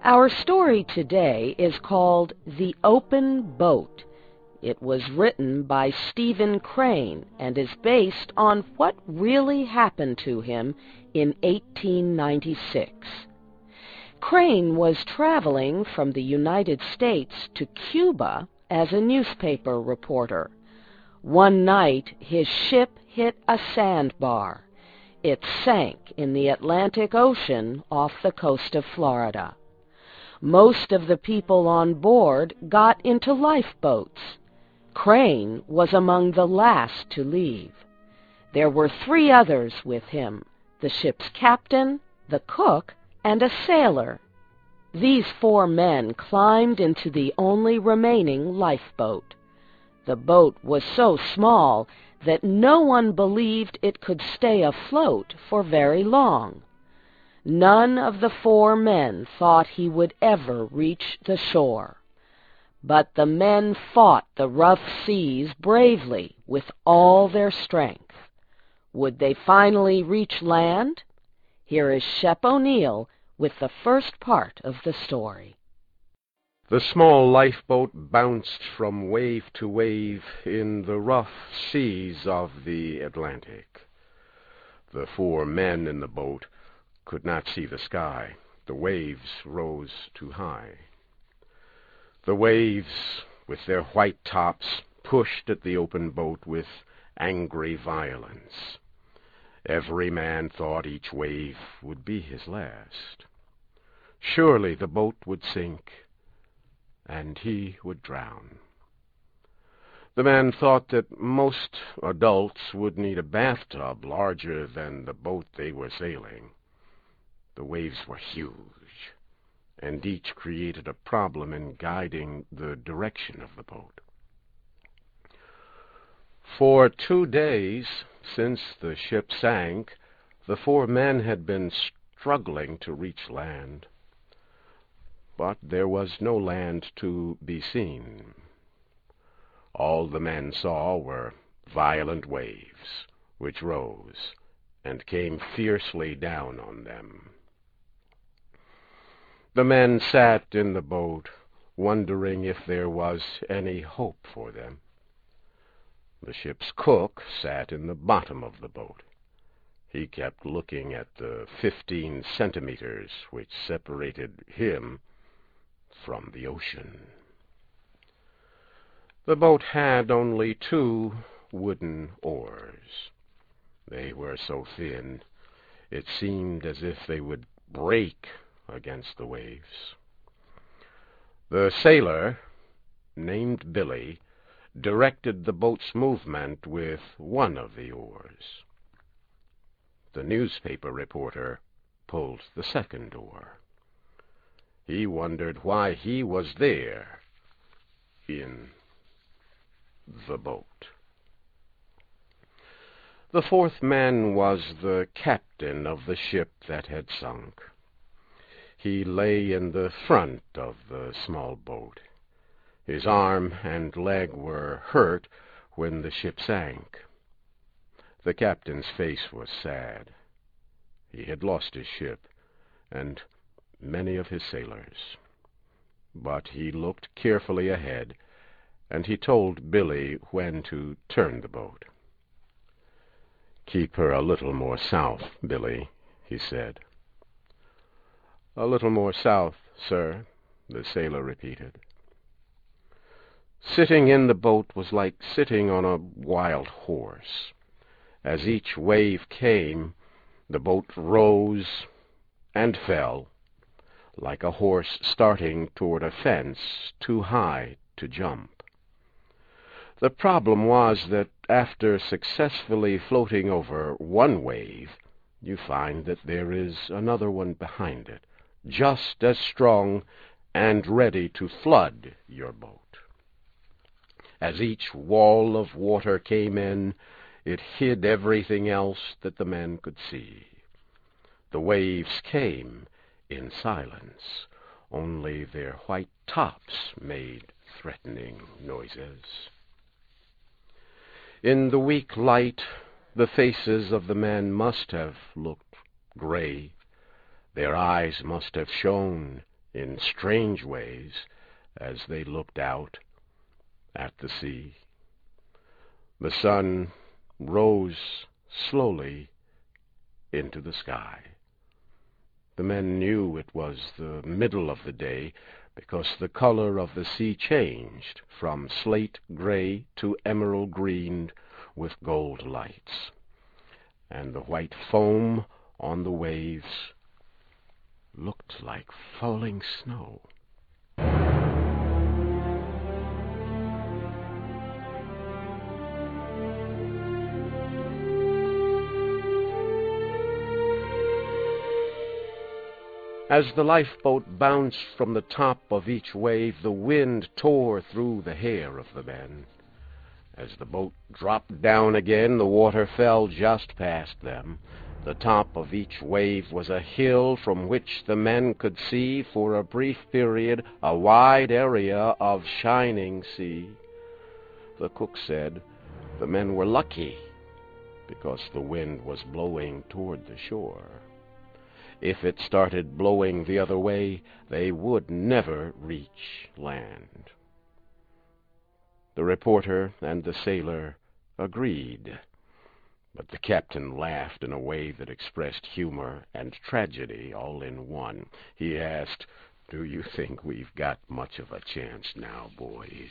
Our story today is called The Open Boat. It was written by Stephen Crane and is based on what really happened to him in 1896. Crane was traveling from the United States to Cuba as a newspaper reporter. One night, his ship hit a sandbar. It sank in the Atlantic Ocean off the coast of Florida. Most of the people on board got into lifeboats. Crane was among the last to leave. There were 3 others with him, the ship's captain, the cook, and a sailor. These 4 men climbed into the only remaining lifeboat. The boat was so small that no one believed it could stay afloat for very long. None of the 4 men thought he would ever reach the shore. But the men fought the rough seas bravely with all their strength. Would they finally reach land? Here is Shep O'Neal with the first part of the story. The small lifeboat bounced from wave to wave in the rough seas of the Atlantic. The 4 men in the boat could not see the sky. The waves rose too high. The waves, with their white tops, pushed at the open boat with angry violence. Every man thought each wave would be his last. Surely the boat would sink, and he would drown. The man thought that most adults would need a bathtub larger than the boat they were sailing. The waves were huge, and each created a problem in guiding the direction of the boat. For 2 days, since the ship sank, the 4 men had been struggling to reach land. But there was no land to be seen. All the men saw were violent waves, which rose and came fiercely down on them. The men sat in the boat, wondering if there was any hope for them. The ship's cook sat in the bottom of the boat. He kept looking at the 15 centimeters which separated him from the ocean. The boat had only 2 wooden oars. They were so thin, it seemed as if they would break against the waves. The sailor, named Billy, directed the boat's movement with one of the oars. The newspaper reporter pulled the second oar. He wondered why he was there in the boat. The 4th man was the captain of the ship that had sunk. He lay in the front of the small boat. His arm and leg were hurt when the ship sank. The captain's face was sad. He had lost his ship, and many of his sailors. But he looked carefully ahead, and he told Billy when to turn the boat. "Keep her a little more south, Billy," he said. "A little more south, sir," the sailor repeated. Sitting in the boat was like sitting on a wild horse. As each wave came, the boat rose and fell, like a horse starting toward a fence too high to jump. The problem was that after successfully floating over one wave, you find that there is another one behind it, just as strong and ready to flood your boat. As each wall of water came in, it hid everything else that the men could see. The waves came in silence. Only their white tops made threatening noises. In the weak light, the faces of the men must have looked gray. Their eyes must have shone in strange ways as they looked out at the sea. The sun rose slowly into the sky. The men knew it was the middle of the day because the color of the sea changed from slate gray to emerald green with gold lights, and the white foam on the waves looked like falling snow. As the lifeboat bounced from the top of each wave, the wind tore through the hair of the men. As the boat dropped down again, the water fell just past them. The top of each wave was a hill from which the men could see, for a brief period, a wide area of shining sea. The cook said the men were lucky because the wind was blowing toward the shore. If it started blowing the other way, they would never reach land. The reporter and the sailor agreed, but the captain laughed in a way that expressed humor and tragedy all in one. He asked, "Do you think we've got much of a chance now, boys?"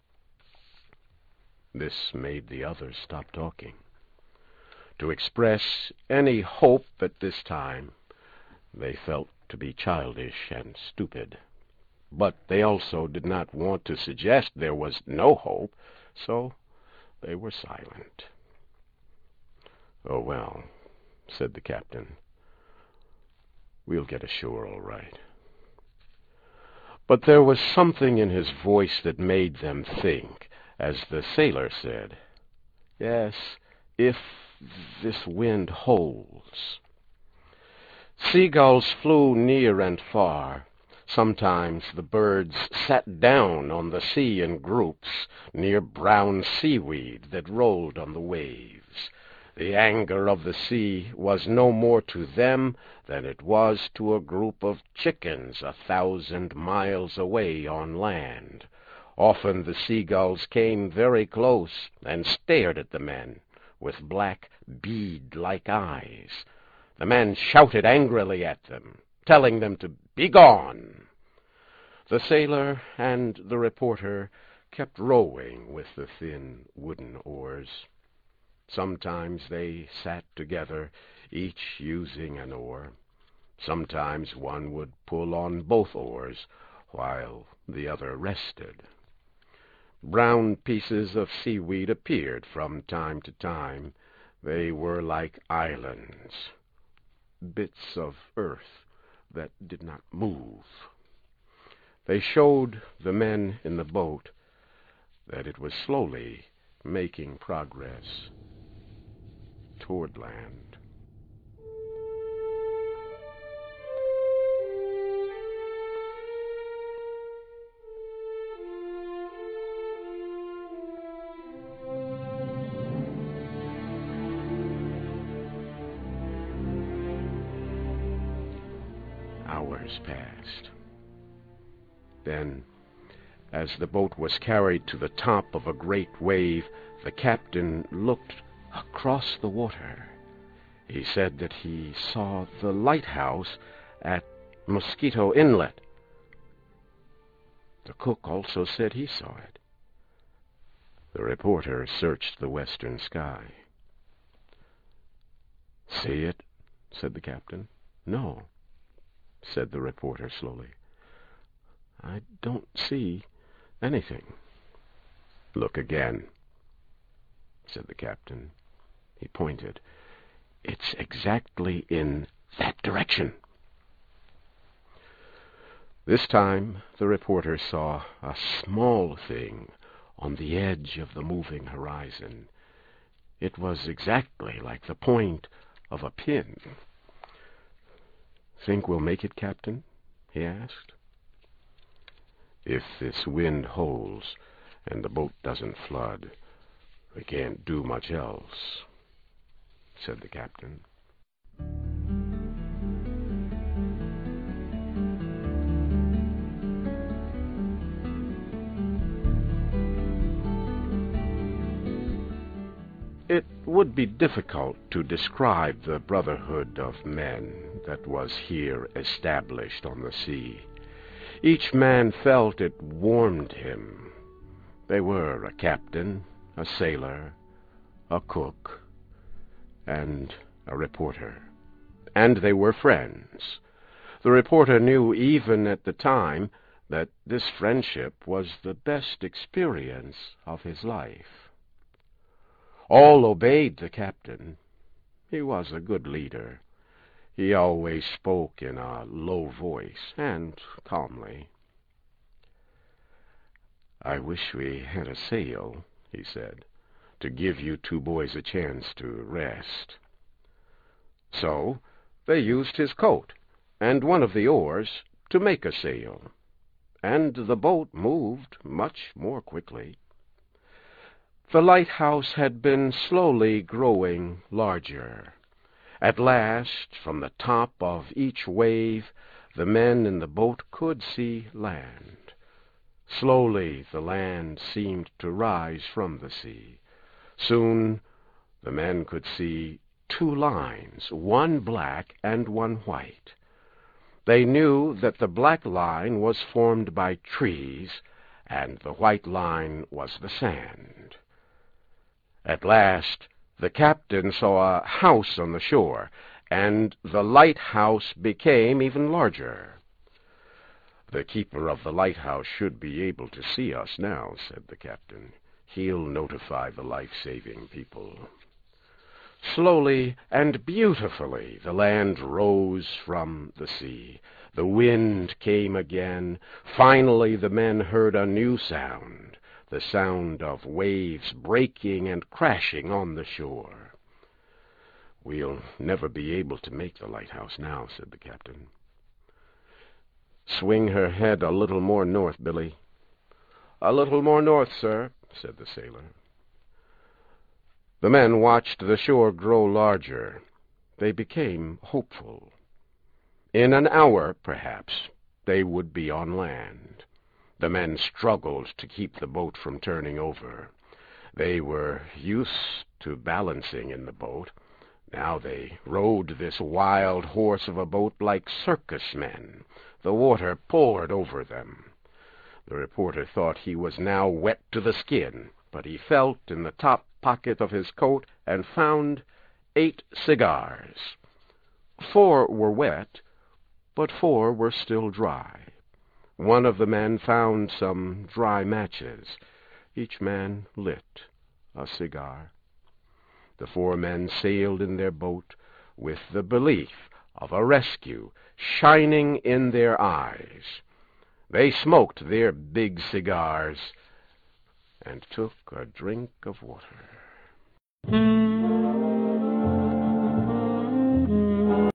This made the others stop talking. To express any hope at this time, they felt to be childish and stupid. But they also did not want to suggest there was no hope, so they were silent. "Oh, well," said the captain, "we'll get ashore all right." But there was something in his voice that made them think, as the sailor said, "Yes, if this wind holds." Seagulls flew near and far. Sometimes the birds sat down on the sea in groups near brown seaweed that rolled on the waves. The anger of the sea was no more to them than it was to a group of chickens 1,000 miles away on land. Often the seagulls came very close and stared at the men with black bead-like eyes. The men shouted angrily at them, telling them to be gone. The sailor and the reporter kept rowing with the thin wooden oars. Sometimes they sat together, each using an oar. Sometimes one would pull on both oars, while the other rested. Brown pieces of seaweed appeared from time to time. They were like islands, bits of earth that did not move. They showed the men in the boat that it was slowly making progress toward land. Hours passed. Then, as the boat was carried to the top of a great wave, the captain looked across the water. He said that he saw the lighthouse at Mosquito Inlet. The cook also said he saw it. The reporter searched the western sky. "See it?" said the captain. "No," said the reporter slowly. "I don't see anything." "Look again," said the captain. He pointed. "It's exactly in that direction." This time the reporter saw a small thing on the edge of the moving horizon. It was exactly like the point of a pin. "Think we'll make it, Captain?" he asked. "If this wind holds and the boat doesn't flood, we can't do much else," said the captain. It would be difficult to describe the brotherhood of men that was here established on the sea. Each man felt it warmed him. They were a captain, a sailor, a cook, and a reporter. And they were friends. The reporter knew even at the time that this friendship was the best experience of his life. All obeyed the captain. He was a good leader. He always spoke in a low voice and calmly. "I wish we had a sail," he said, "to give you two boys a chance to rest." So they used his coat and one of the oars to make a sail, and the boat moved much more quickly. The lighthouse had been slowly growing larger. At last, from the top of each wave, the men in the boat could see land. Slowly the land seemed to rise from the sea. Soon the men could see two lines, one black and one white. They knew that the black line was formed by trees, and the white line was the sand. At last the captain saw a house on the shore, and the lighthouse became even larger. "The keeper of the lighthouse should be able to see us now," said the captain. "He'll notify the life-saving people." Slowly and beautifully the land rose from the sea. The wind came again. Finally the men heard a new sound, the sound of waves breaking and crashing on the shore. "We'll never be able to make the lighthouse now," said the captain. "Swing her head a little more north, Billy." "A little more north, sir," said the sailor. The men watched the shore grow larger. They became hopeful. In an hour, perhaps, they would be on land. The men struggled to keep the boat from turning over. They were used to balancing in the boat. Now they rode this wild horse of a boat like circus men. The water poured over them. The reporter thought he was now wet to the skin, but he felt in the top pocket of his coat and found 8 cigars. 4 were wet, but 4 were still dry. One of the men found some dry matches. Each man lit a cigar. The 4 men sailed in their boat with the belief of a rescue shining in their eyes. They smoked their big cigars and took a drink of water.